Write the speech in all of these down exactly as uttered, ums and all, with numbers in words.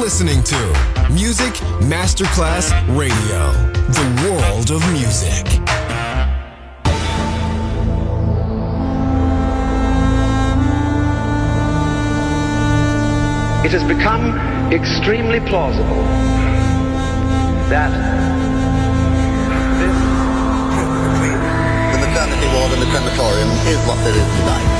listening to Music Masterclass Radio, the world of music. It has become extremely plausible that this the maternity ward and the crematorium is what there is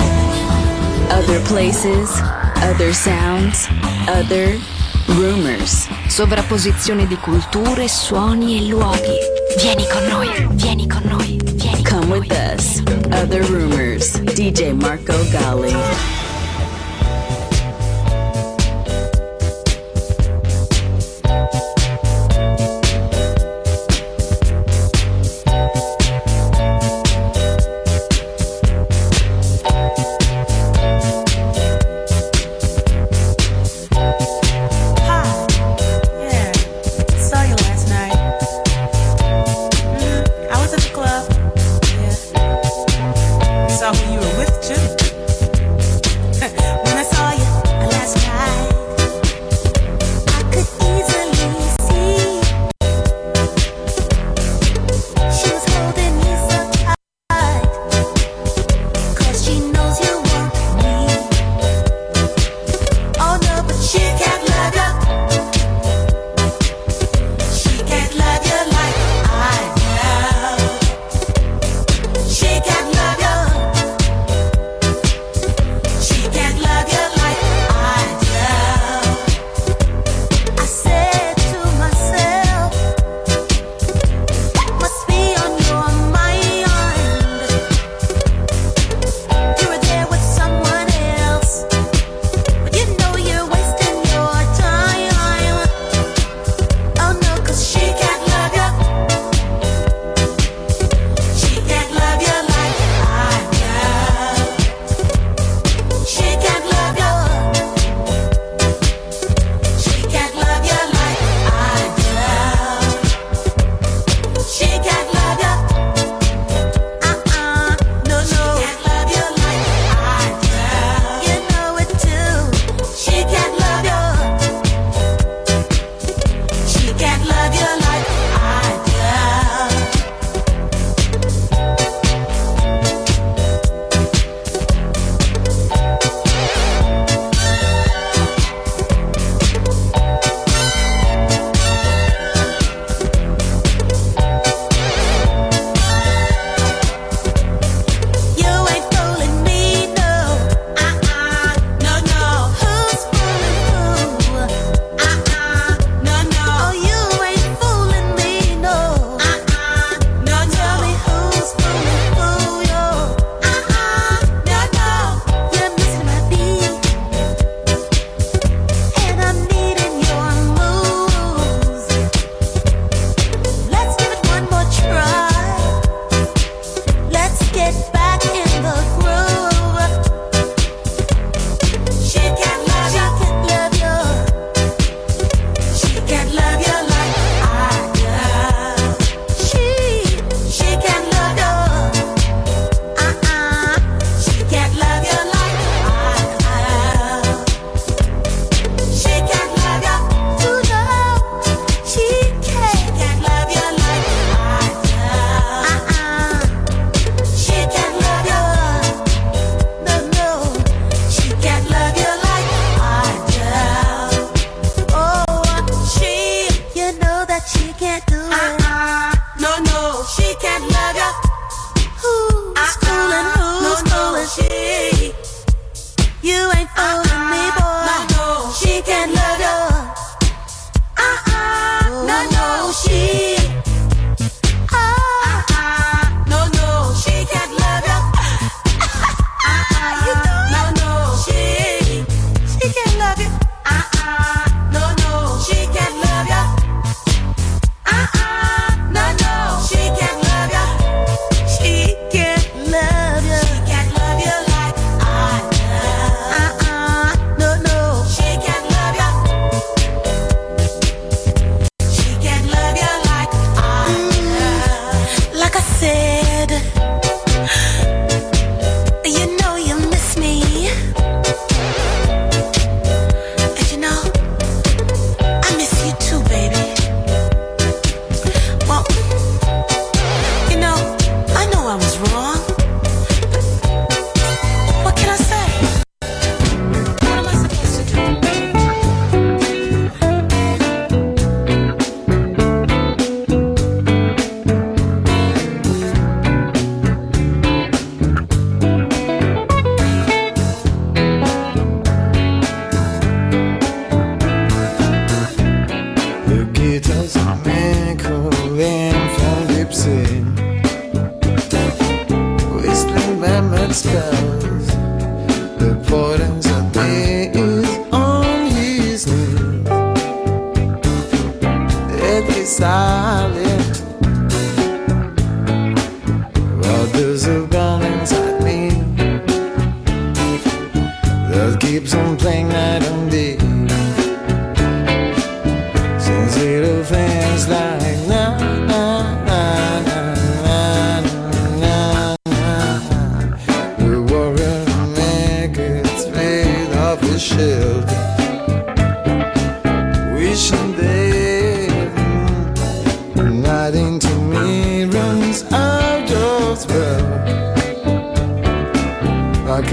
tonight. Other places, other sounds, other rumors. Sovrapposizione di culture, suoni e luoghi. Vieni con noi, vieni con noi, vieni con Come noi. with us. Other rumors. D J Marco Gally. She can't love you.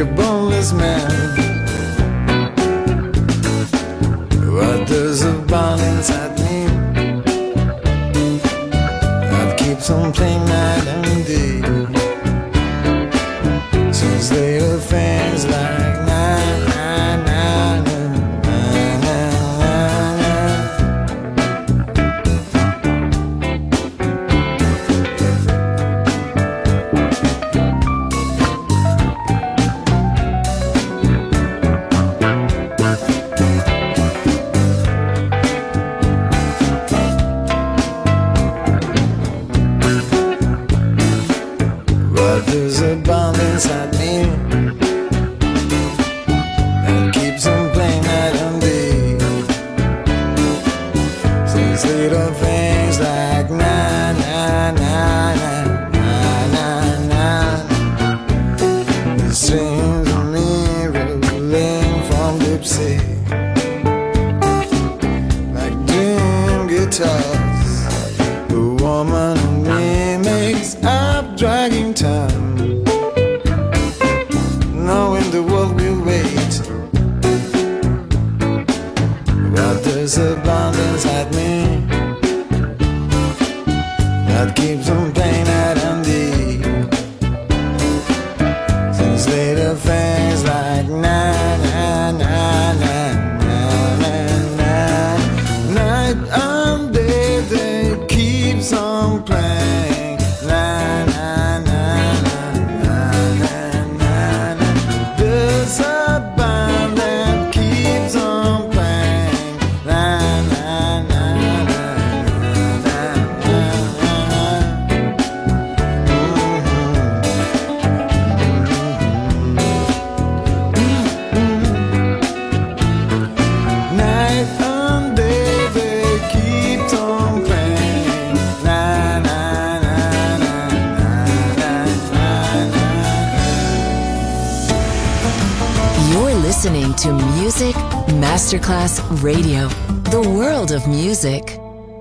a boneless man. But there's a bond inside me that keeps on playing night and day. Since little things like na na na na na there's a bomb inside me that keeps on playing night and day. Says little things like na na na na na na na. It seems to me rolling from deep sea, like dim guitars. The woman in me makes up dragging time, knowing the world will wait. But there's a bond inside me that keeps on playing night and day. Since little things like na na na na na na na, night and day they keeps on playing na na na na na na na. There's a band that keeps on playing na na na na na na. Night and day they keep on playing na na na na na na na. You're listening to Music Masterclass Radio, the world of music.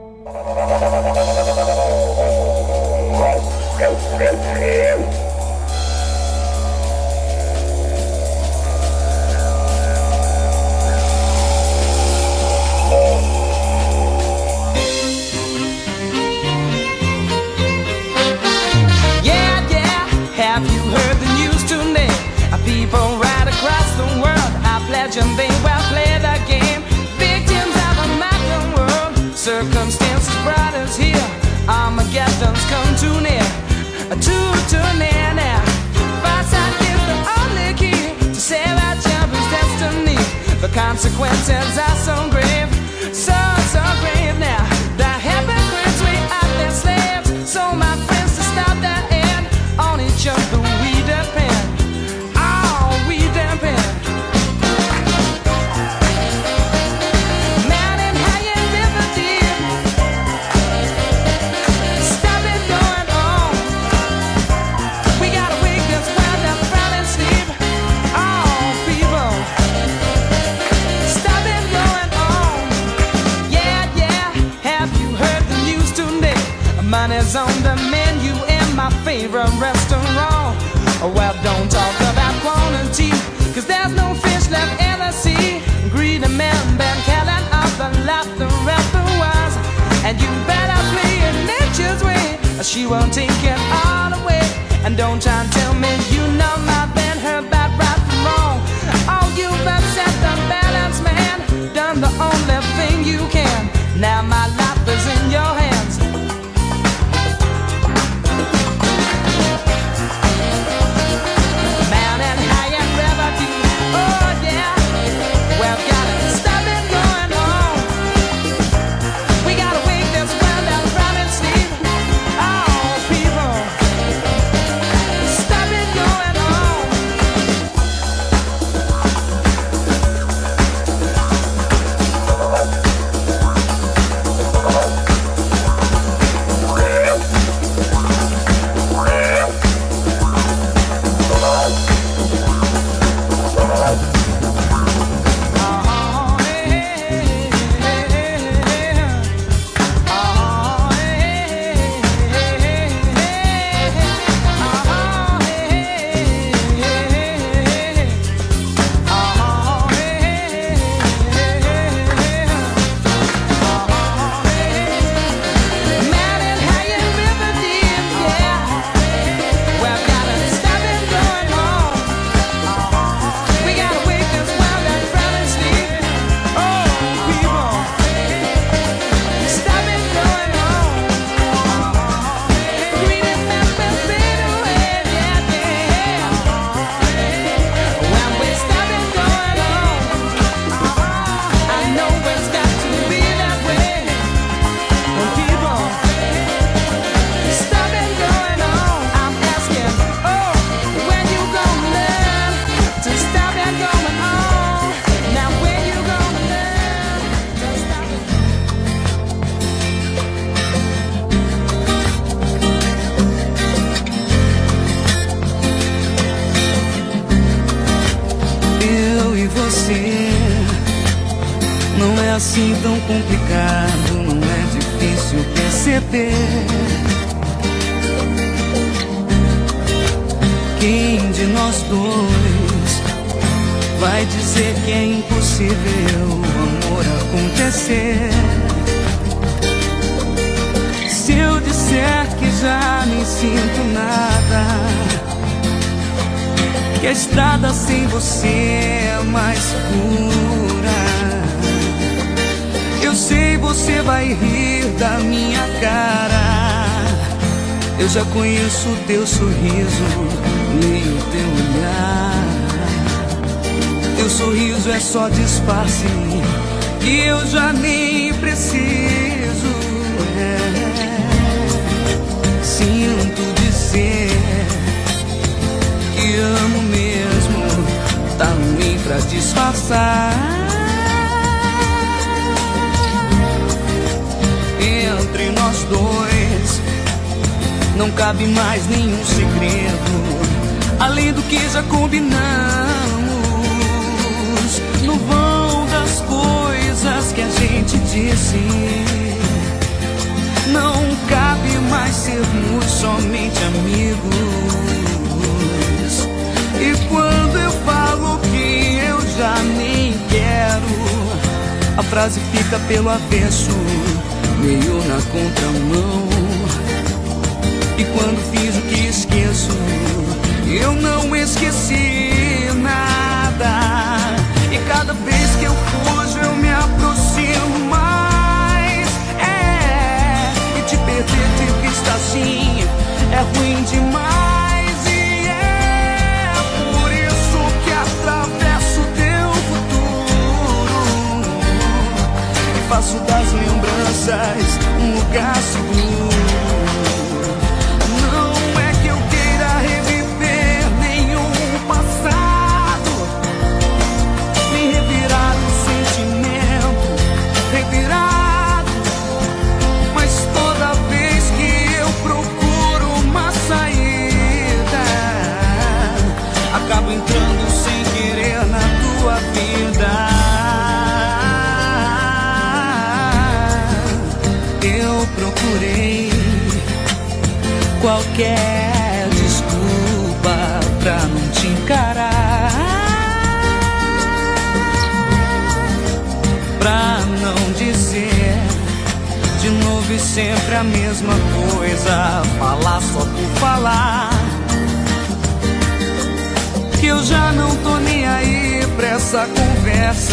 Yeah, yeah, have you heard the news today? People right across the world are pledging they will play the game. Victims of a modern world, circumstances brought us here. Armageddon's come too near, too, too near now. Foresight is the only key to save our children's destiny. The consequences are so grave, so, so grave now. The hypocrites, we are their slaves. So my friends, to stop that end, on each other we depend. Oh, we depend. Mountain high and river deep, stop it going on. We gotta wake this world up from its sleep. Oh, people, stop it going on. Yeah, yeah, have you heard the news today? Money's on the menu in my favorite restaurant. Well, don't talk about quantity, cause there's no fish left in the sea. Greedy men been killing off the laughter of the wise. And you better play it nature's way, or she won't take it all away. And don't try and tell me you know my been her bad right from wrong. Oh, you've upset the balance, man, done the only thing you can. Now my life is in your hands. Mountain high and river deep, oh yeah. Well, gotta stop it going on. We gotta wake this world up from its sleep. Oh, people, stop it going on. Não é assim tão complicado, não é difícil perceber. Quem de nós dois vai dizer que é impossível o amor acontecer? Se eu disser que já nem sinto nada, que a estrada sem você é mais segura, eu sei você vai rir da minha cara. Eu já conheço o teu sorriso, leio o teu olhar. Teu sorriso é só disfarce e eu já nem preciso. É. Sinto dizer que amo mesmo, tá ruim pra disfarçar. Entre nós dois não cabe mais nenhum segredo, além do que já combinamos. No vão das coisas que a gente disse, não cabe mais sermos somente amigos. E quando eu falo que eu já nem quero, a frase fica pelo avesso, meio na contramão. E quando fiz o que esqueço, eu não esqueci nada. E cada vez que eu fujo eu me aproximo mais. É, e te perder de vista assim é ruim demais. E é por isso que atravesso teu futuro e faço das lembranças um lugar seguro. Acabo entrando sem querer na tua vida. Eu procurei qualquer desculpa pra não te encarar, pra não dizer de novo e sempre a mesma coisa, falar só por falar. Que eu já não tô nem aí pra essa conversa,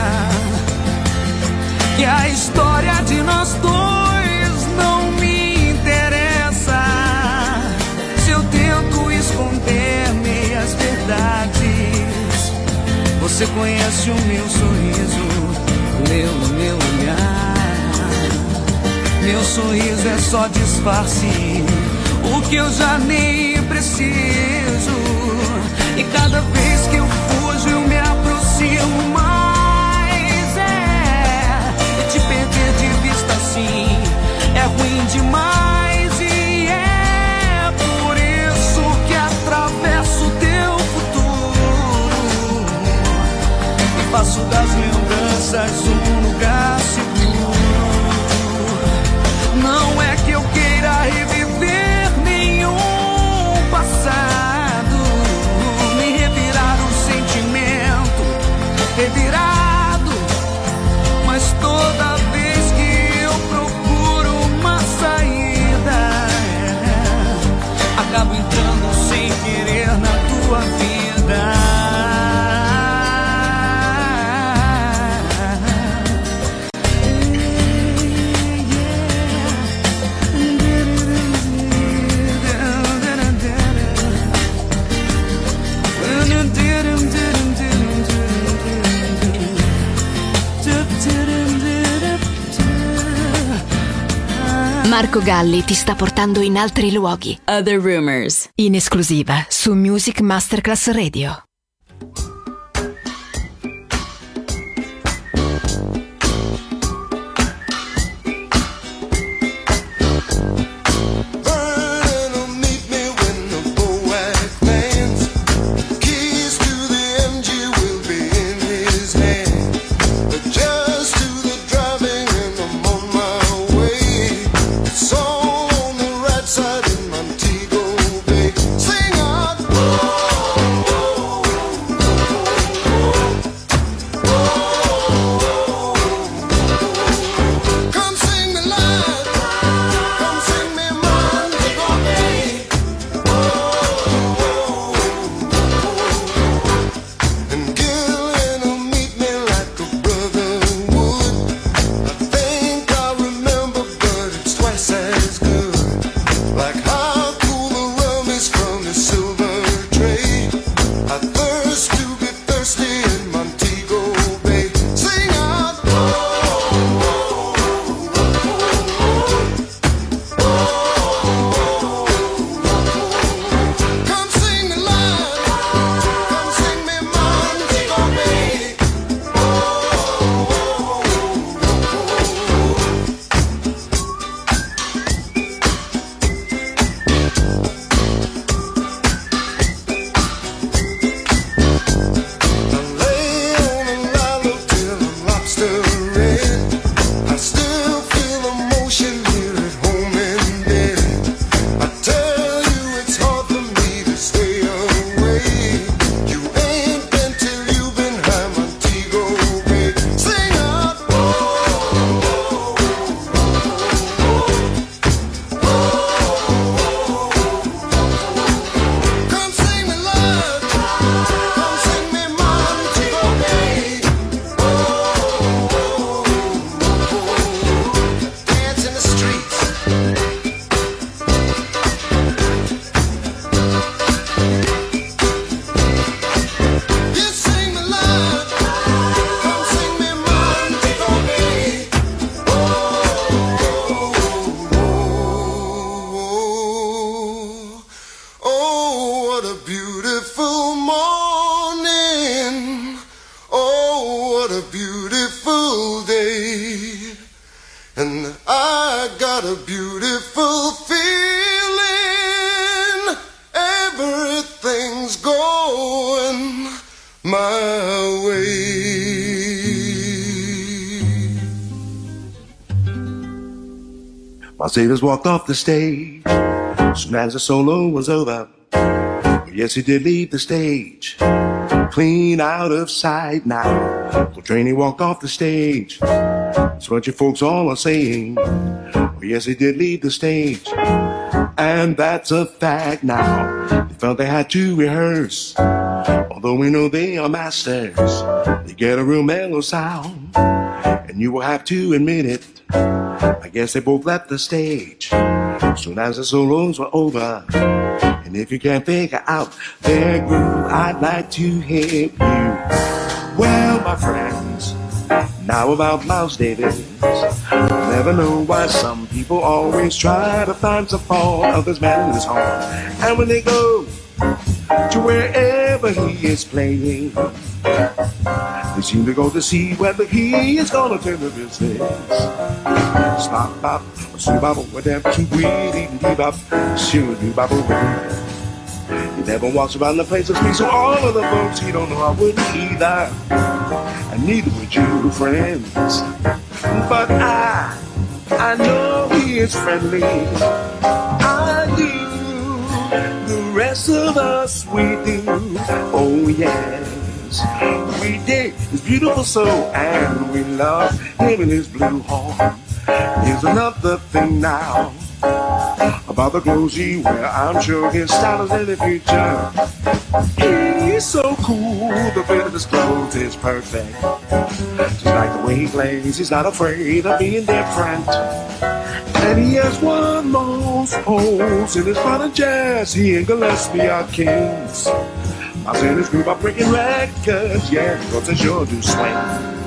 que a história de nós dois não me interessa. Se eu tento esconder meias verdades, você conhece o meu sorriso, leu o meu olhar. Meu sorriso é só disfarce, o que eu já nem preciso. E cada vez que eu fujo eu me aproximo mais. É, e te perder de vista assim é ruim demais. E é por isso que atravesso teu futuro e faço das lembranças um lugar seguro. Não é que eu queira reviver nenhum passado, revirado, mas toda vez que eu procuro uma saída, é, acabo entrando sem querer na tua vida. Marco Galli ti sta portando in altri luoghi. Other Rumors. In esclusiva su Music Masterclass Radio. Just And I got a beautiful feeling, everything's going my way. My Savior's walked off the stage soon as the solo was over. Yes, he did leave the stage, clean out of sight now. Coltrane, he walked off the stage. That's what you folks all are saying. Yes, he did leave the stage, and that's a fact now. They felt they had to rehearse, although we know they are masters. They get a real mellow sound, and you will have to admit it. I guess they both left the stage soon as the solos were over. And if you can't figure out their groove, I'd like to help you. Well, my friends, now about Miles Davis. Never know why some people always try to find some fault of this man in his heart. And when they go to wherever he is playing, they seem to go to see whether he is gonna turn the business. Stop, bop, shoot, bop, whatever, keep weeding, deep up, shoot, bop, whatever. He never walks around the place with me, so all of the folks he don't know I wouldn't either. And neither would you, friends. But I, I know he is friendly. I do. The rest of us, we do. Oh, yes. We dig his beautiful soul, and we love him in his blue horn. Here's another thing now about the clothes he wear. I'm sure his style is in the future. He's so cool, the fit of his clothes is perfect. Just like the way he plays, he's not afraid of being different. And he has won most polls in his modern jazz. He and Gillespie are kings. I said this group are breaking records, yeah, cause they sure do swing.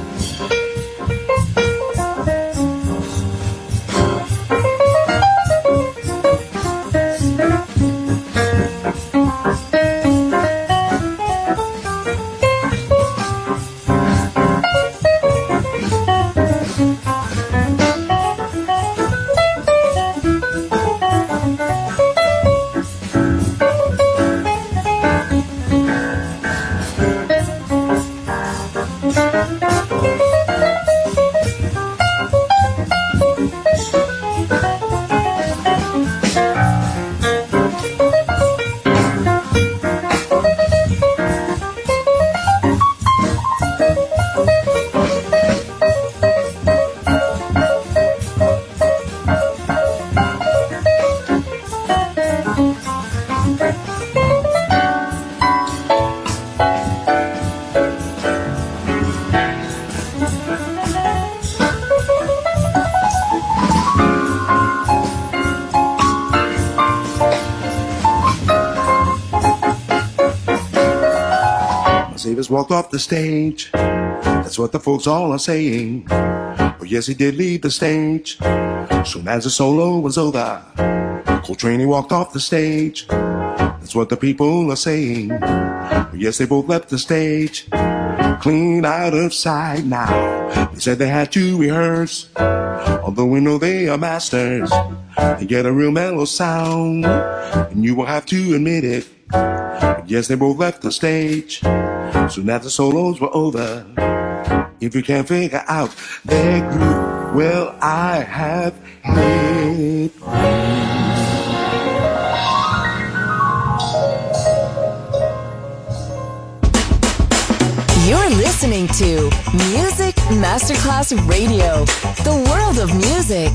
Walked off the stage. That's what the folks all are saying. Well, yes, he did leave the stage soon as the solo was over. Coltrane, he walked off the stage. That's what the people are saying. Well, yes, they both left the stage clean out of sight now. They said they had to rehearse, although we know they are masters. They get a real mellow sound, and you will have to admit it. But yes, they both left the stage soon as the solos were over. If you can't figure out their groove, well, I have hit. You're listening to Music Masterclass Radio, the world of music.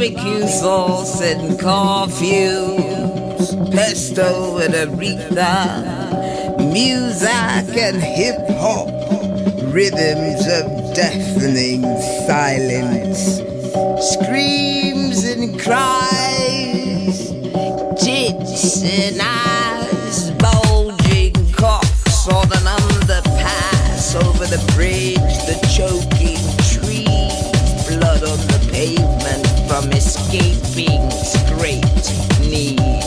barbecue sauce and curfews, pesto and Aretha, music and hip-hop, rhythms of deafening silence, screams and cries, tits and eyes, bulging cocks on an underpass, over the bridge, the choking trees, blood on the pavement from escaping scraped knees.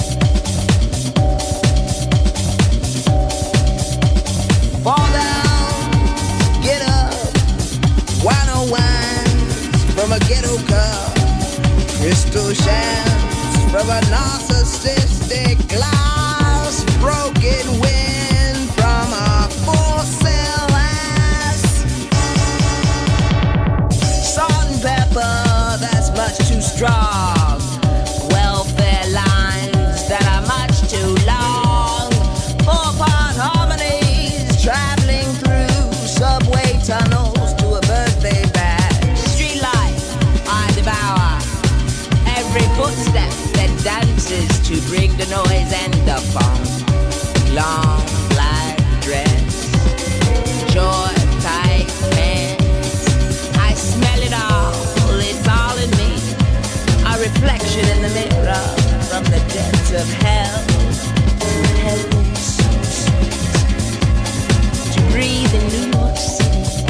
Fall down, get up, one oh ones from a ghetto cup, crystal shams from a narcissistic glass, broken wind from a four-cell ass, salt and pepper that's much too strong, welfare lines that are much too long, four-part harmonies traveling through subway tunnels to a birthday bash. Street life I devour, every footstep that dances to bring the noise and the funk. Long black dress, short tight pants, I smell it all, it's all in me, a reflection in the mirror from the depths of hell to heaven so sweet, to breathe in New York City.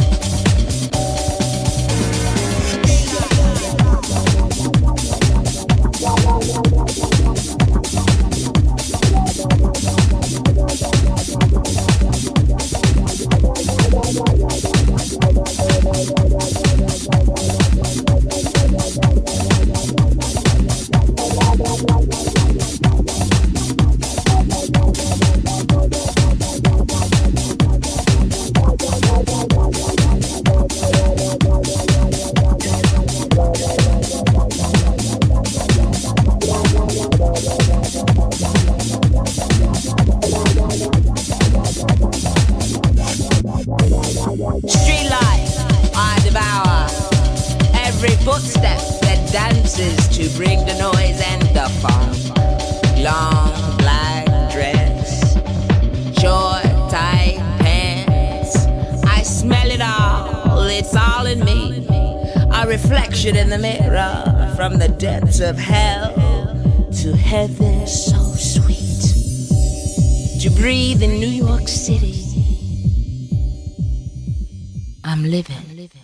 Street life I devour, every footstep that dances to bring the noise and the funk. Long black dress, short tight pants, I smell it all, it's all in me, a reflection in the mirror from the depths of hell to heaven so sweet, to breathe in New York City. I'm living.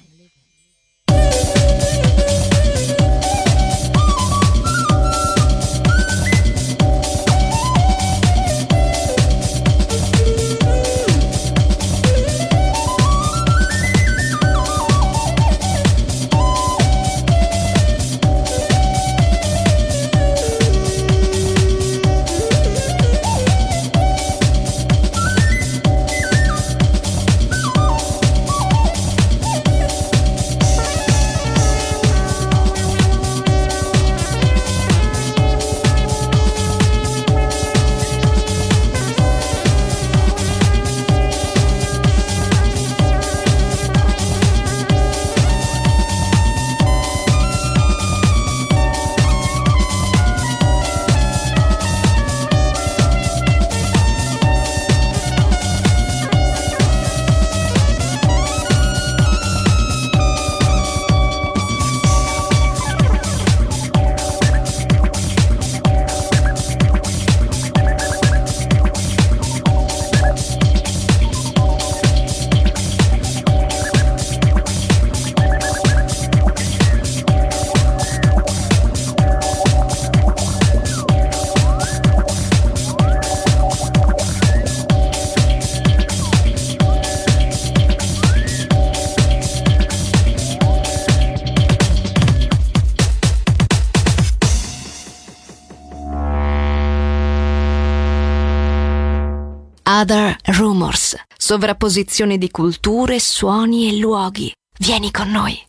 Other Rumors, sovrapposizione di culture, suoni e luoghi. Vieni con noi.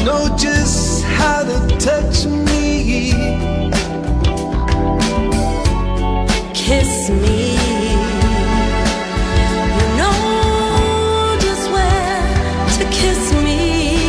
know just how to touch me. Kiss me. You know just where to kiss me.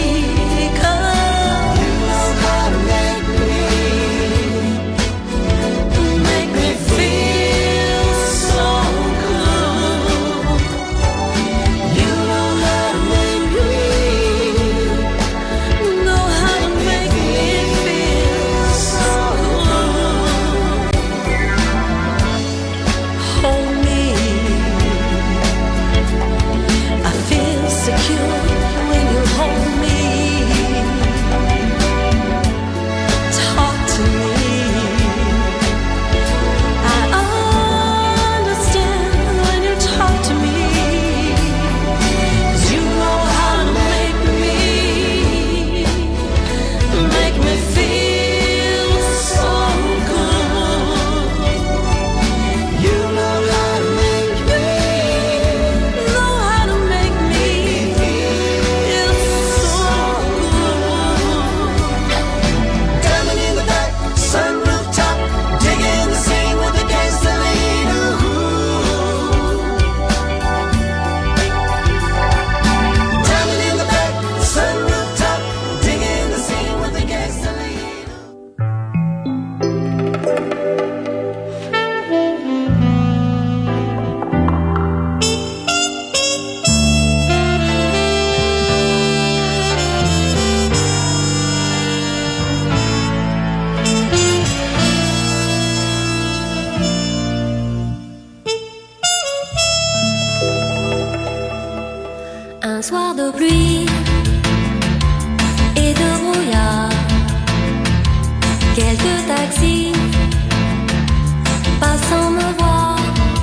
Un soir de pluie et de brouillard, quelques taxis passant me voir,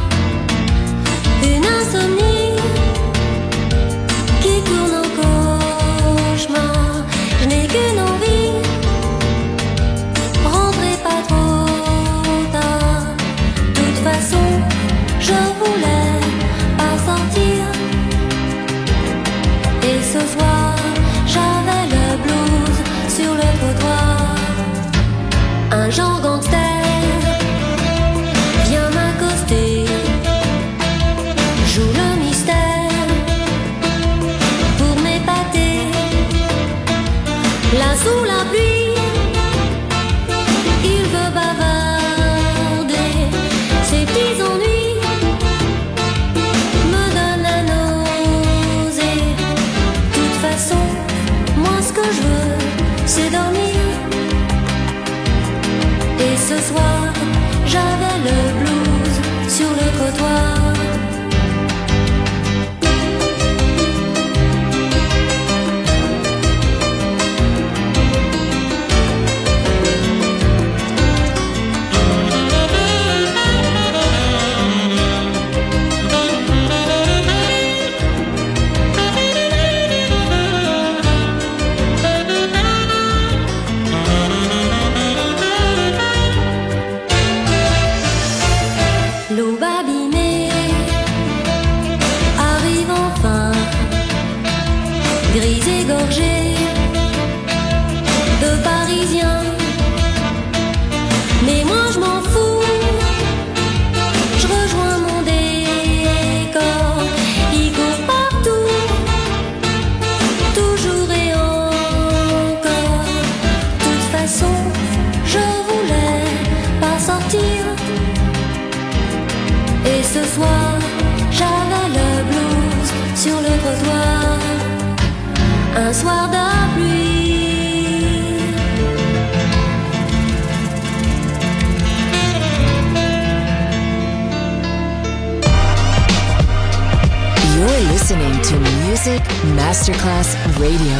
une insomnie qui tourne en cauchemar. Je n'ai qu'une envie, rentrez pas trop tard. De toute façon, je voulais pas sortir. Et ce soir, j'avais le blues sur le trottoir. Un genre gangster vient m'accoster, joue le mystère pour m'épater. Là sous la pluie, il veut bavarder. Ses petits ennuis me donnent la nausée. De toute façon, moi ce que je veux, c'est dormir. Et ce soir, j'avais le blues sur le trottoir. L'aube abîmée arrive enfin, grise égorgée de Parisiens. Mais moi je m'en fous, je rejoins mon décor. Il court partout, toujours et encore. De toute façon, je voulais pas sortir. Et ce soir, j'avais le blues sur le trottoir. Un soir de pluie. You're listening to Music Masterclass Radio.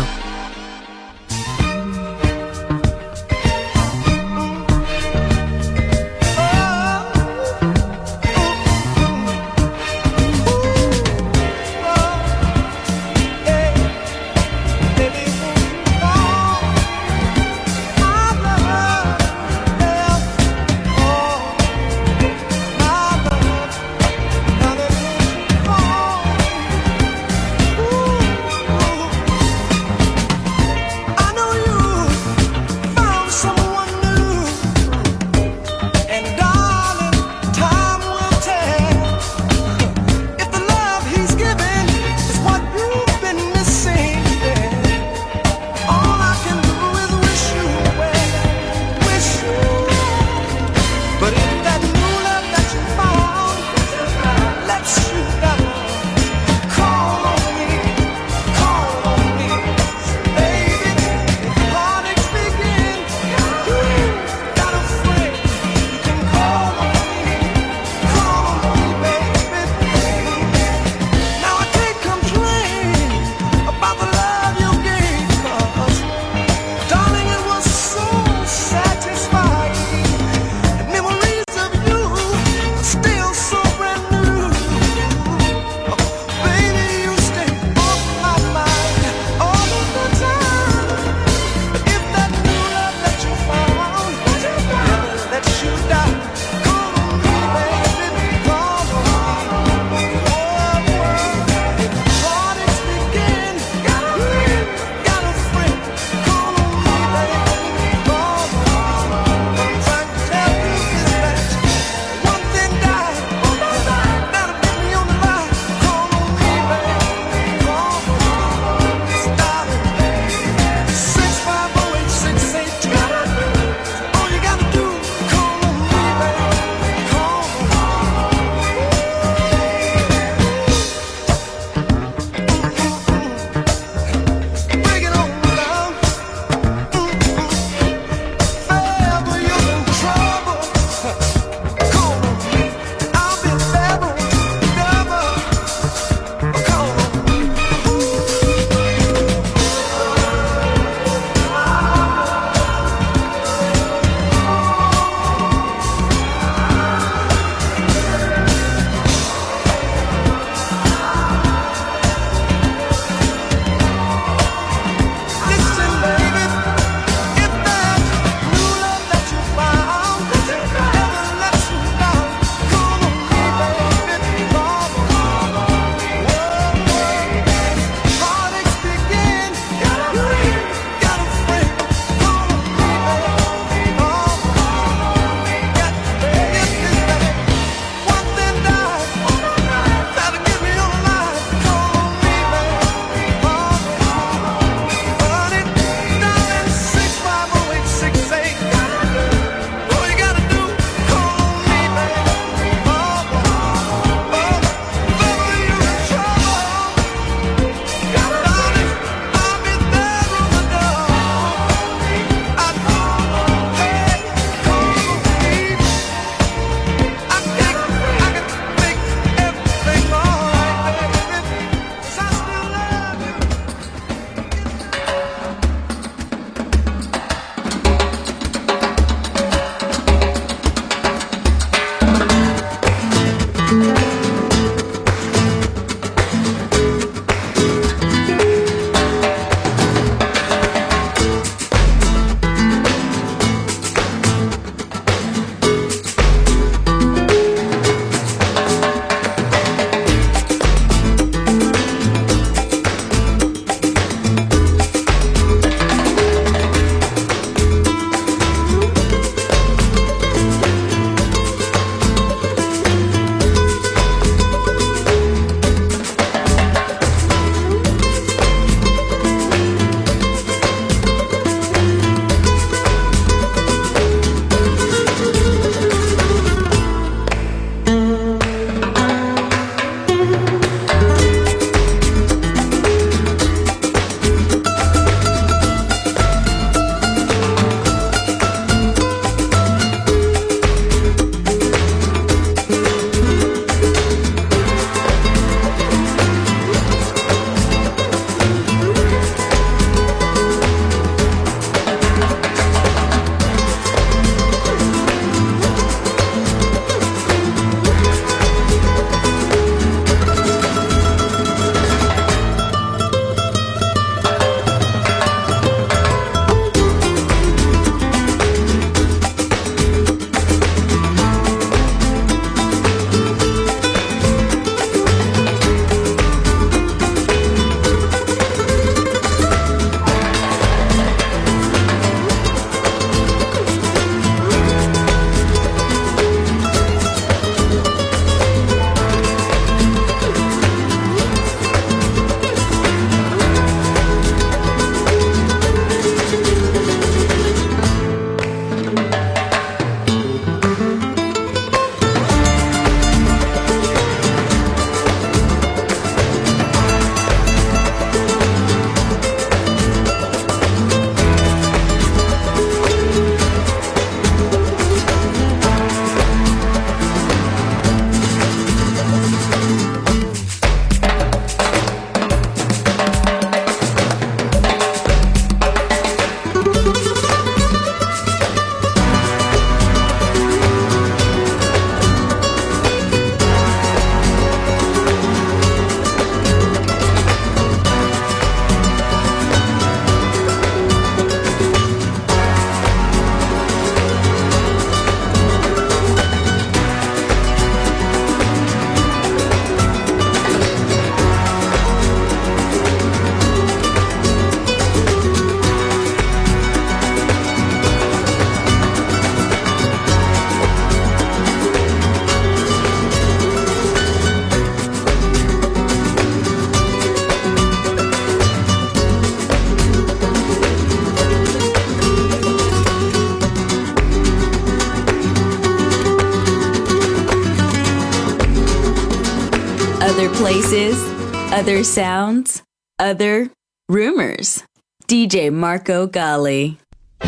Other places, other sounds, other rumors. D J Marco Gally.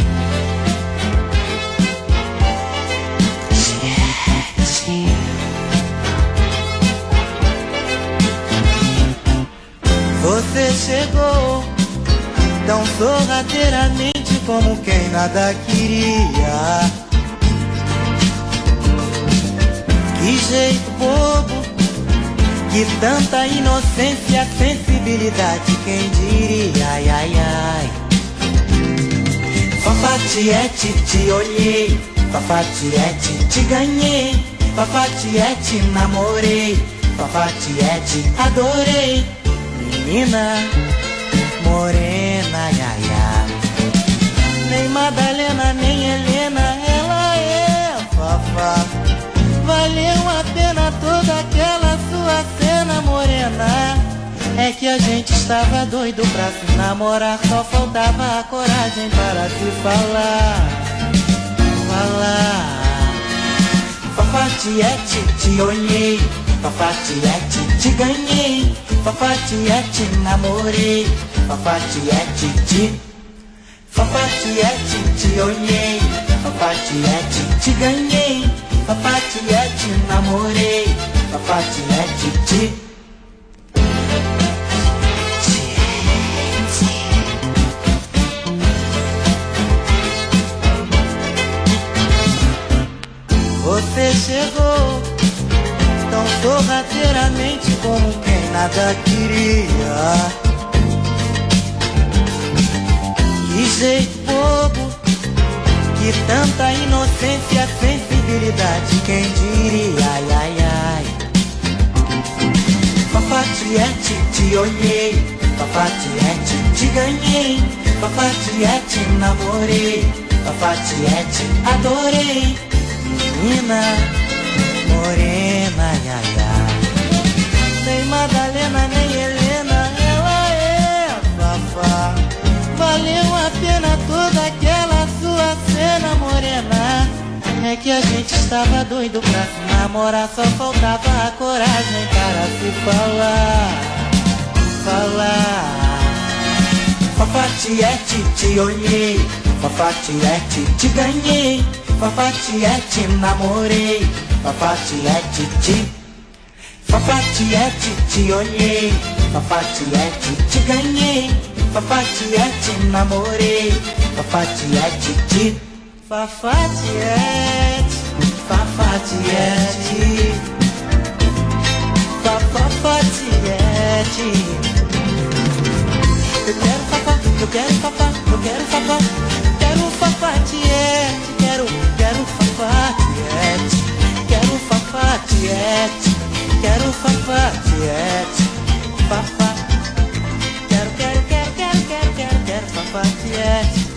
Você chegou tão sorrateiramente como quem nada queria. Que jeito bobo, que tanta inocência, sensibilidade, quem diria, ai, ai, ai. Fafatiete, te olhei, Fafatiete, te ganhei, Fafatiete, namorei, Fafatiete, adorei. Menina morena, ai, ai, ai. Nem Madalena, nem Helena, ela é Fafá. Valeu a pena toda aquela sua cena morena. É que a gente estava doido pra se namorar, só faltava a coragem para se falar. Falar. Fafatiete, te olhei, Fafatiete, te ganhei, Fafatiete, namorei, Fafatiete, te Fafatiete, te olhei, Fafatiete, te ganhei, Fafatiete, namorei, Fafatiete, te Você chegou tão sorrateiramente como quem nada queria. Que jeito bobo, que tanta inocência, sensibilidade, quem diria, ai, ai, ai. Fafatiete, te olhei, Fafatiete, te ganhei, Fafatiete, namorei, Fafatiete, adorei. Menina morena, ai, ai, ai. Nem Madalena, nem Helena, ela é Fafá. Valeu a pena toda aquela sua cena morena. É que a gente estava doido pra se namorar, só faltava a coragem para se falar. Falar. Fafatiete, te olhei, Fafatiete, te ganhei, Fafatiete, namorei, Fafatiete, te Fafatiete, te olhei, Fafatiete, te ganhei, Fafatiete, namorei, Fafatiete, te Fafatiete, Fafatiete, Fafatiete. Eu quero Fafá, eu quero Fafá, eu quero Fafá, quero Fafatiete, quero, quero Fafatiete, quero Fafatiete, quero Fafatiete, Fafá, quero, quero, quero, quero, quero, quero, quero Fafatiete.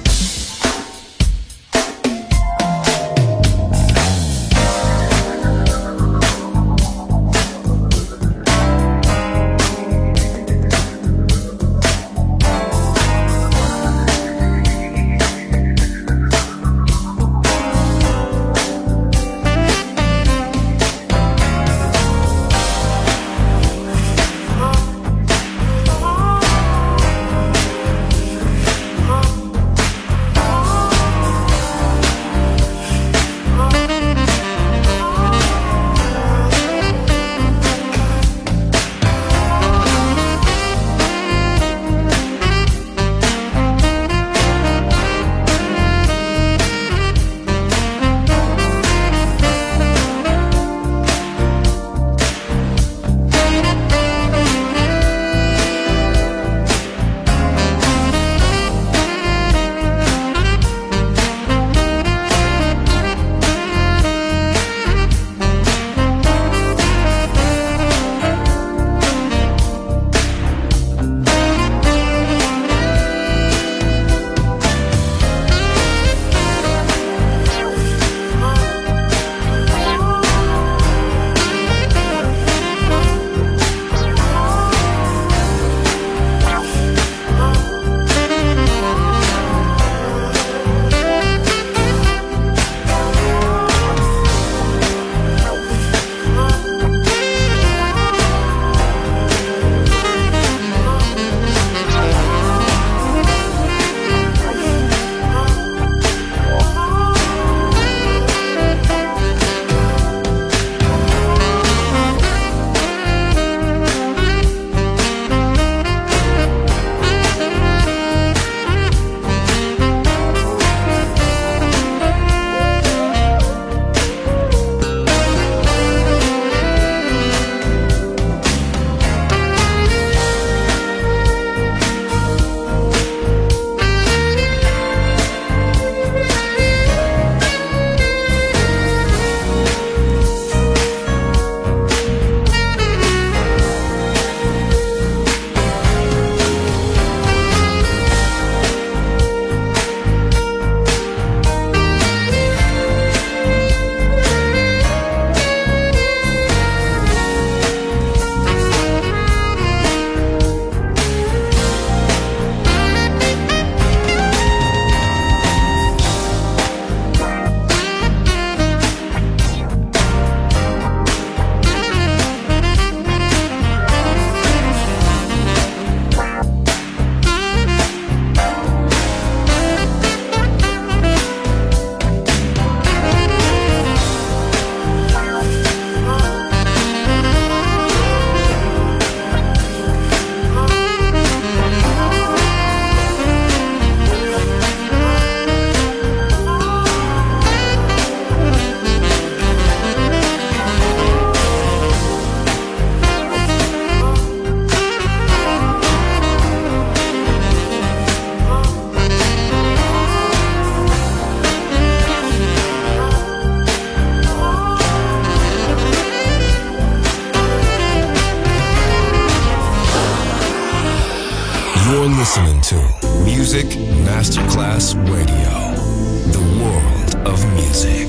You're listening to Music Masterclass Radio, the world of music.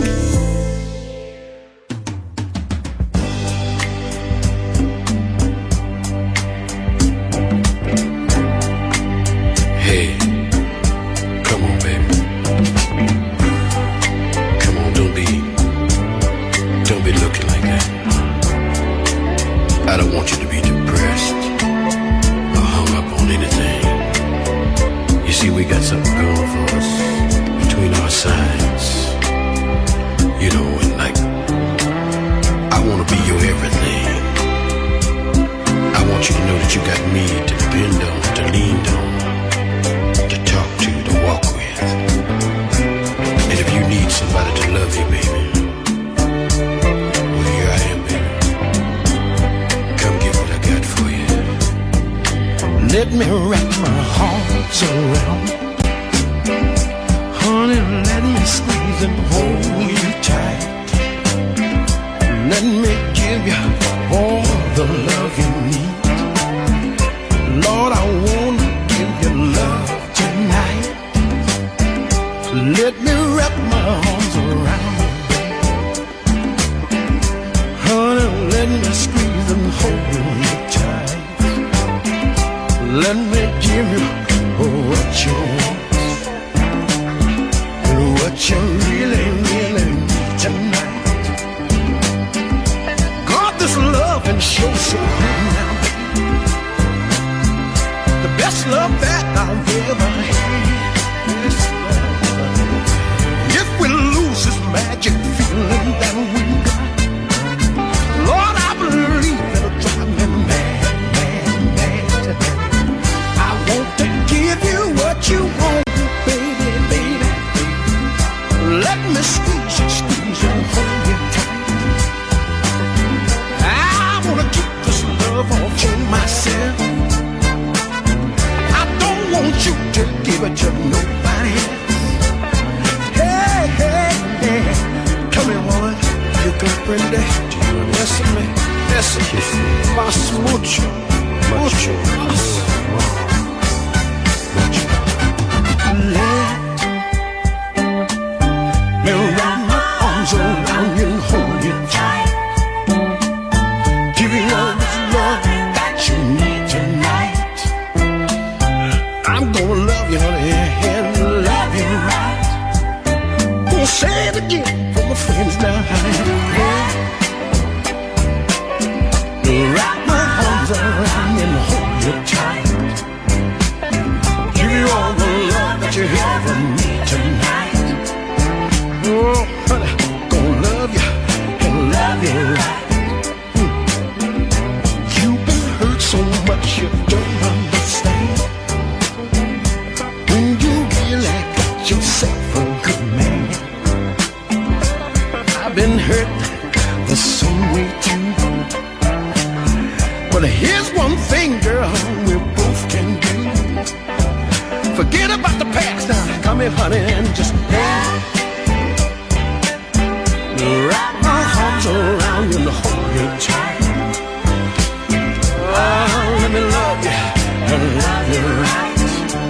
Hey, come on, baby. Come on, don't be, don't be looking like that. I don't want you to be depressed or hung up on anything. You see, we got something going for us between our sides. You know, and like, I want to be your everything. I want you to know that you got me to depend on, to lean on, to talk to, to walk with. And if you need somebody to love you, baby, well, here I am, baby. Come get what I got for you. Let me wrap my arms around, honey, let me squeeze and hold you tight. Let me give you all the love you need. Lord, I wanna give you love tonight. Let me wrap my arms around you, honey, let me squeeze and hold you tight. Let me give you what you want and what you really, really need tonight. God, this love and show so good now, the best love that I've ever had. If we lose this magic feeling that we got, Lord, I believe it'll drive me mad, mad, mad. I want to give you what you want, baby, baby. Let me squeeze you, squeeze you, hold you tight. I wanna keep this love all to myself. I don't want you to give it to nobody else. Hey, hey, hey, come here, woman. You can bring that. Listen me, listen. Más mucho, mucho más. Let me wrap my arms around you and hold you tight. Give you all this love that you need tonight. I'm gonna love you, honey, and love you right. Gonna say it again for my friends now, honey. Wrap my arms around you and hold you tight. Give you all the love that you ever need tonight. Oh, honey, gonna love you and love you right. Mm. You've been hurt so much you don't understand. When you really got yourself a good man. I've been hurt the same way too. But here's one thing, girl, we both can do. Forget about the past now. Come here, honey, and just wrap my arms around you and hold you tight. Oh, let me love you and love you right.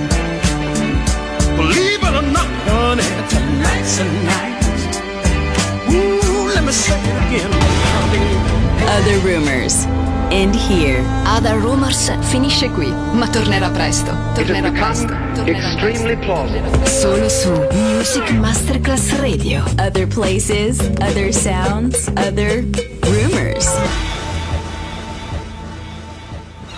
Believe it or not, honey, tonight's the night. Ooh, let me say it again, honey. Other Rumors. End here. Other Rumors finisce qui, ma tornerà presto. Tornerà presto. Extremely plausible. Solo su Music Masterclass Radio. Other places, other sounds, other rumors.